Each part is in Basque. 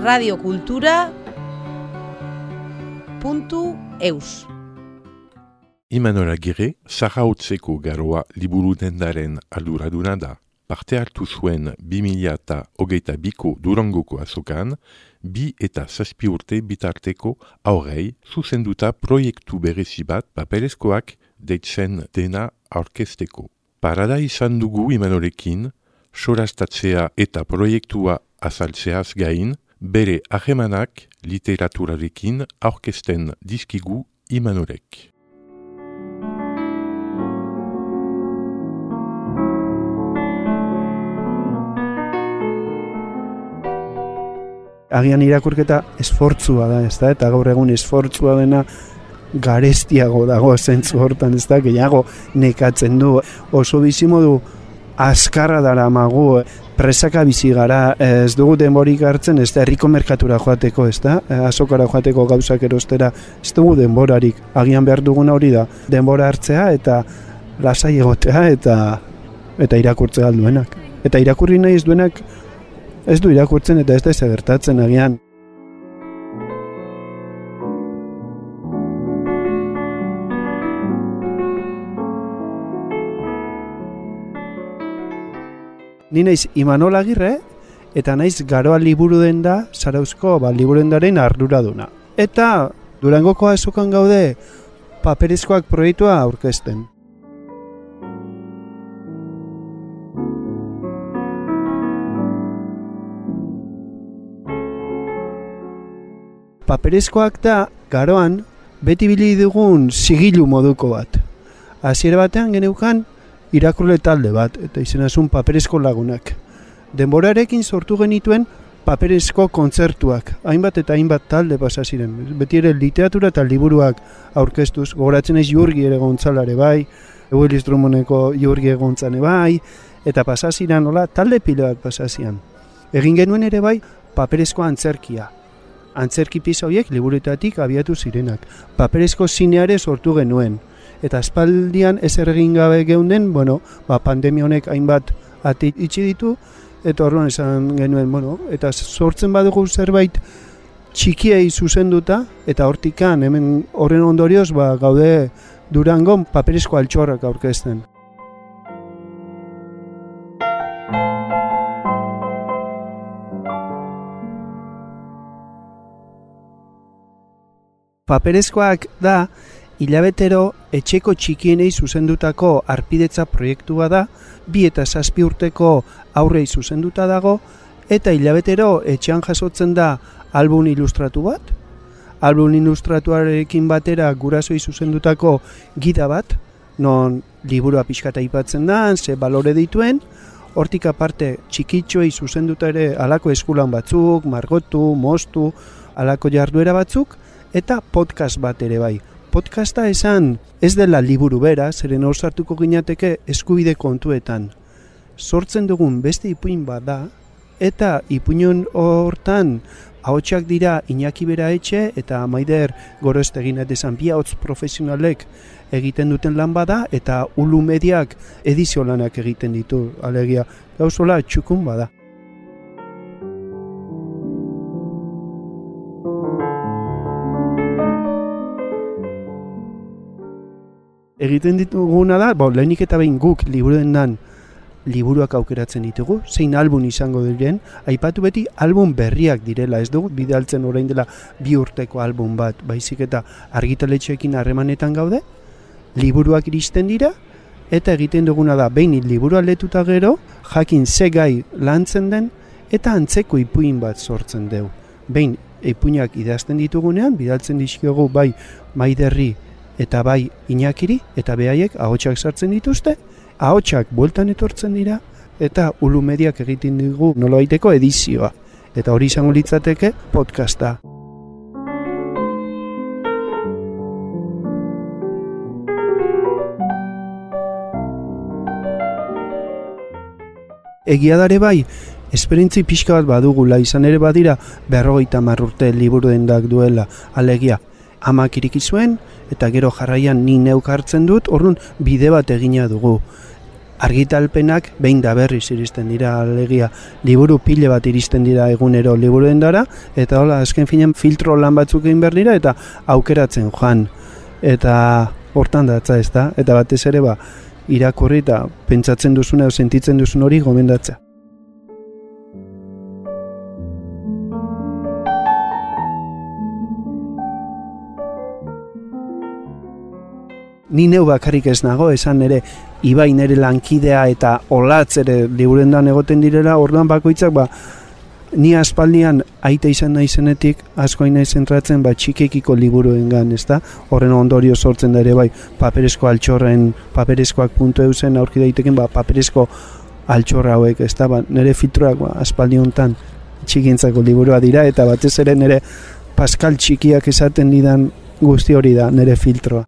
radiokultura.eus. Imanol Agirre, Zarautzeko Garoa liburu dendaren arduraduna da. Parte hartu zuen 2022ko Durangoko azokan, 2 eta 7 urte bitarteko aurrei zuzenduta proiektu berezi bat paperezkoak deitzen dena aurkezteko. Parada izan dugu Imanolekin, solastatzea eta proiektua azaltzeaz gain, bere ahemanak literaturarekin aurkezten dizkigu Imanolek. Agian irakurketa esfortzua da, ezta? Eta gaur egun esfortzua dena garestiago dago zentzu hortan, ezta? Gehiago nekatzen du. Oso bizimodu azkarra daramagu, presaka bizi gara, ez dugu denborik hartzen, ez da herriko merkatura joateko, ezta? Azokara joateko gauzak erostera, ez dugu denborarik. Agian behar duguna hori da, denbora hartzea eta lasai egotea eta irakurtzea alduenak. Eta irakurri nahi ez duenak ez du irakurtzen eta ez da gertatzen agian. Ni naiz Imanol Agirre eta naiz Garoa liburu denda Zarauzko liburudendaren arduraduna. Eta Durangoko azokan gaude paperezkoak proiektua aurkezten. Paperezkoak da, Garoan, beti bili dugun sigilu moduko bat. Hasiera batean geneukan irakurle talde bat, eta izenazun paperezko lagunak. Denborarekin sortu genituen paperezko kontzertuak, hainbat eta hainbat talde pasa ziren. Beti ere literatura eta liburuak aurkeztuz, gogoratzen ez Jurgi ere gontzalare bai, Willis Drummondeko Jurgi egontzane bai, eta pasa ziren, talde pile bat pasa ziren. Egin genuen ere bai paperezko antzerkia. Antzerki pieza horiek liburuetatik abiatu zirenak. Paperezko zineare sortu genuen. Eta aspaldian ezer egin gabe geunden, pandemia honek hainbat ate itxi ditu, eta orduan esan genuen, eta sortzen badugu zerbait txikiei zuzenduta, eta hortikan, hemen horren ondorioz, gaude Durangon paperezko altxorrak aurkezten. Paperezkoak da, hilabetero etxeko txikienei zuzendutako arpidetza proiektua da, 2 eta 7 urteko aurrei zuzenduta dago, eta hilabetero etxean jasotzen da album ilustratu bat, album ilustratuarekin batera gurasoi zuzendutako gida bat, non liburua pixkata aipatzen da, ze balore dituen, hortik aparte txikitxoei zuzenduta ere alako eskulan batzuk, margotu, moztu, alako jarduera batzuk, eta podcast bat ere bai. Podcasta esan ez dela liburu bera, zeren hor sartuko ginateke eskubide kontuetan. Sortzen dugun beste ipuin bat da, eta ipuinon hortan ahotsak dira Iñaki Beraetxe eta Maider Gorostegin esan bi ahots profesionalek egiten duten lan bada, eta Ulu Mediak edizio lanak egiten ditu, alegia gauzola txukun bada. Egiten dituguna da, lehenik eta behin guk liburuendan liburuak aukeratzen ditugu, zein album izango diren, aipatu beti album berriak direla, ez dugu bidaltzen orain dela 2 urteko album bat, baizik eta argitaletxeekin harremanetan gaude, liburuak iristen dira, eta egiten duguna da, behin liburua letuta gero, jakin ze gai lantzen den, eta antzeko ipuin bat sortzen dugu. Behin ipuinak idazten ditugunean, bidaltzen dizkiogu bai Maiderri, eta bai Iñakiri, eta behaiek ahotsak sartzen dituzte, ahotsak bueltan etortzen dira, eta Ulu Mediak egiten dugu nolabaiteko edizioa. Eta hori izango litzateke podcasta. Egia dare bai, esperientzi pixka bat badugula, izan ere badira 50 urte liburudendak duela, alegia. Amak iriki zuen, eta gero jarraian ni neuk hartzen dut, orduan bide bat egina dugu. argitalpenak behin da berriz iristen dira, alegia liburu pile bat iristen dira egunero liburudendara, eta hola, azken finean filtro lan batzuk egin behar dira, eta aukeratzen joan, eta hortan datza ez da, eta batez ere irakurri eta pentsatzen duzuna, sentitzen duzun hori gomendatza. Ni neu bakarrik ez nago, esan ere Ibai nere lankidea eta Olatz ere liburudendan egoten direla, orduan bakoitzak ni aspaldian aita izan naizenetik asko naiz zentratzen txikekiko liburuengan, ezta? Horren ondorio sortzen da ere paperezko altxorren, paperezkoak .eusen aurki daiteken paperezko altxorra hauek, ezta? Nere filtroak aspaldi hontan txikientzako liburua dira, eta batez ere nere Pascal txikiak esaten didan guzti hori da nere filtroa.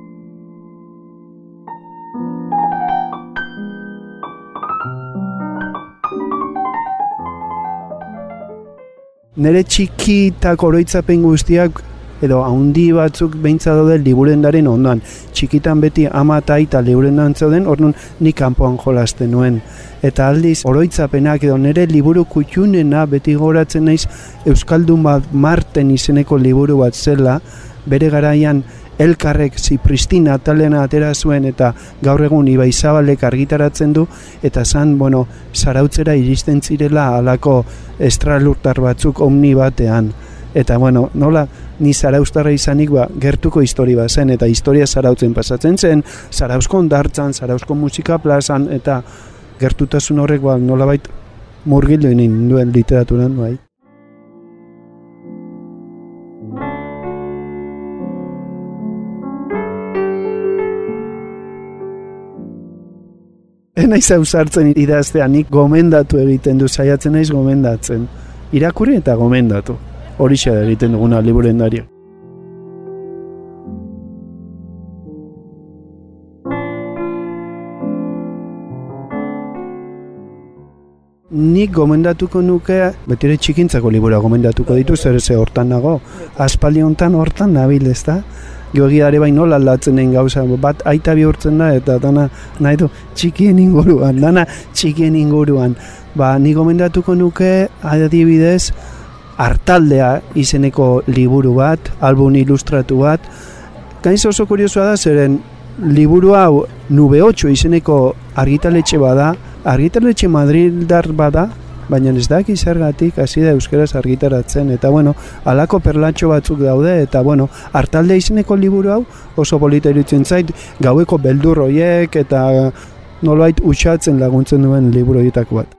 Nere txikitak oroitzapen guztiak edo haundi batzuk beintza daude liburendaren ondoan. Txikitan beti ama eta aita liburendan zeuden, orduan nik kanpoan jolasten nuen. Eta aldiz oroitzapenak edo nere liburu kutxunena beti goratzen naiz Euskaldun Marten izeneko liburu bat zela, bere garaian Elkarrek Zipristina atalena atera zuen eta gaur egun Ibai Zabalek argitaratzen du, eta zarautzera iristen zirela halako estralurtar batzuk omni batean. Eta nola ni zarauztarra izanik gertuko historia bat zen, eta historia zarautzen pasatzen zen, Zarauzko hondartzan, Zarauzko musika plazan, eta gertutasun horrek nolabait murgildu egin duen literaturan bai. Naiz ausartzen idaztea, nik gomendatu egiten du, saiatzen naiz gomendatzen. Irakurri eta gomendatu. Horixe da egiten duguna liburendaria. Nik gomendatuko nuke, betire txikintzako libura gomendatuko ditu, zer ze hortan nago. Aspaldi hontan hortan nabil, ezta? Geogiare nola aldatzen den gauza, bat aita bihurtzen da, eta dana nahi du txikien inguruan. Ni gomendatuko nuke, adibidez, Artaldea izeneko liburu bat, album ilustratu bat. Gainz oso kuriosua da, zeren liburu hau Nube 8 izeneko argitaletxe bada, argitaletxe madrildar bada, baina ez daki zergatik hasi da euskaraz argitaratzen, eta halako perlatxo batzuk daude, eta Artalde izeneko liburu hau oso polita iruditzen zait, gaueko beldur horiek eta nolbait utxatzen laguntzen duen liburu horietako bat.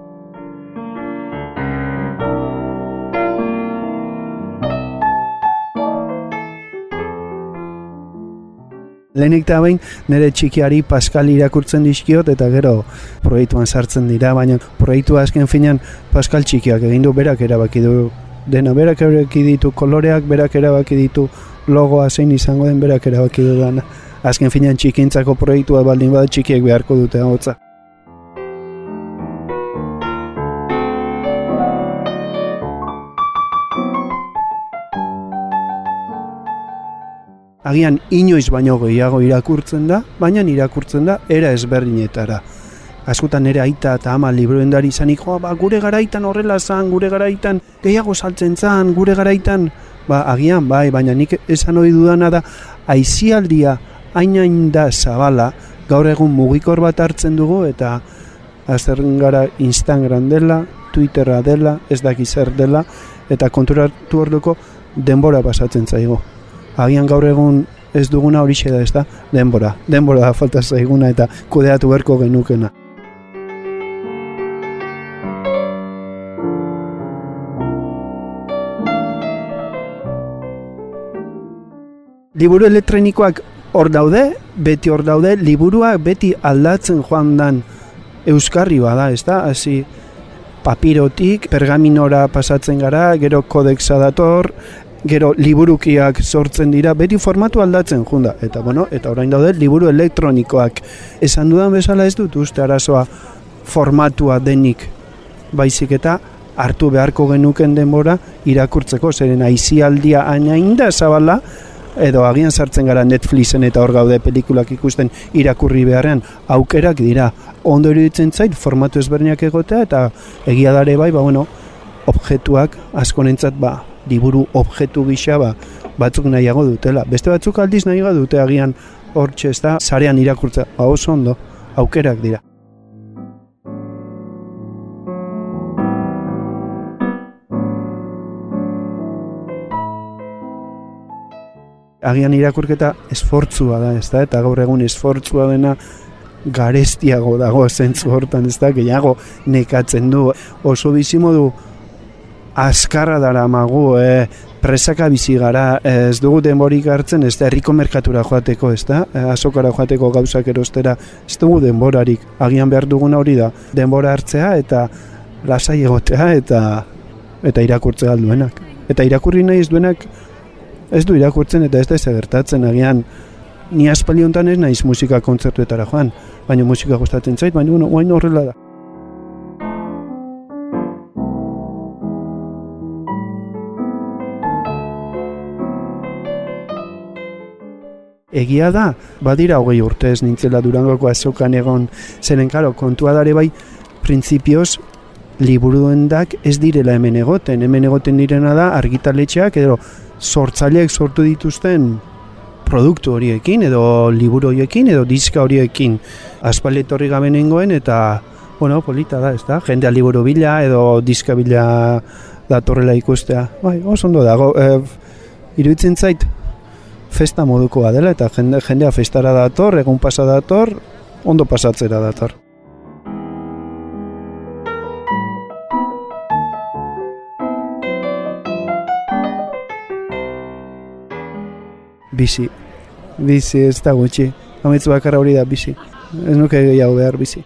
Lehenik eta behin nire txikiari Pascal irakurtzen dizkiot eta gero proiektuan sartzen dira, baina proiektua azken finean Pascal txikiak egin du, berak erabaki du dena, berak erabaki ditu koloreak, berak erabaki ditu logoa zein izango den, berak erabaki du dana. Azken finean txikintzako proiektua baldin bada txikiek beharko dute hotza. Agian inoiz baino gehiago irakurtzen da, baina irakurtzen da era ezberdinetara. Askotan nire aita eta ama liburuendari izanik, gure garaitan horrela zan, gure garaitan gehiago saltzen zan, gure garaitan, agian baina nik esan ohi dudana da, aisialdia hain da zabala, gaur egun mugikor bat hartzen dugu, eta azterren gara Instagram dela, Twitterra dela, ez daki zer dela, eta konturatu orduko denbora pasatzen zaigo. Agian gaur egun ez duguna horixe da, ez da? Denbora da falta zaiguna eta kudeatu beharko genukena. Liburu elektronikoak hor daude, beti hor daude, liburuak beti aldatzen joan dan euskarri bada, ez da? Hasi papirotik, pergaminora pasatzen gara, gero kodeksa dator, gero liburukiak sortzen dira, beti formatu aldatzen junda. Eta eta orain daude liburu elektronikoak. Esan dudan bezala ez dut uste arazoa formatua denik, baizik eta hartu beharko genuken denbora irakurtzeko, zeren aisialdia hain da zabala, edo agian sartzen gara Netflixen eta hor gaude pelikulak ikusten irakurri beharrean, aukerak dira. Ondo iruditzen zait formatu ezberdinak egotea eta egia dare bai, objektuak askonentzat liburu objektu gisa batzuk nahiago dutela. Beste batzuk aldiz nahiago dute agian hortxe ez da, sarean irakurtza, oso ondo, aukerak dira. Agian irakurketa esfortzua da, ez da, eta gaur egun esfortzua dena garestiago dago zentzu hortan, ez da, gehiago nekatzen du. Oso bizimodu azkarra dara magu, presaka bizi gara, ez dugu denborik hartzen, ez da, herriko merkatura joateko, ez da, azokara joateko gauzak erostera, ez dugu denborarik. Agian behar duguna hori da, denbora hartzea eta lasai egotea eta irakurtzea alduenak. Eta irakurri nahi ez duenak, ez du irakurtzen eta ez da gertatzen agian. Ni aspaldi honetan ez naiz musika kontzertuetara joan, baina musika gustatzen zait, baina orain horrela da. Egia da, badira 20 urte ez nintzela Durangoko azokan egon, zeren karo, kontua dare bai, printzipioz, liburuendak ez direla hemen egoten direna da argitaletxeak edo sortzaileek sortu dituzten produktu horiekin edo liburu horiekin edo diska horiekin. Aspaldi etorri gabe nengoen eta, polita da, ez da? Jendea liburu bila edo diska bila datorrela ikustea. Bai, oso ondo dago. Iruditzen zait, festa modukoa dela eta jendea festara dator, egun pasa dator, ondo pasatzera dator. Bizi ez da gutxi. Ametzu bakarra hori da bizi. Ez nuke gehiago behar bizi.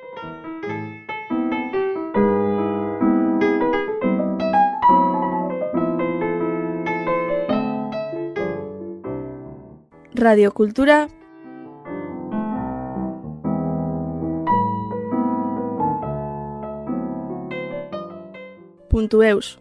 Radiokultura .eus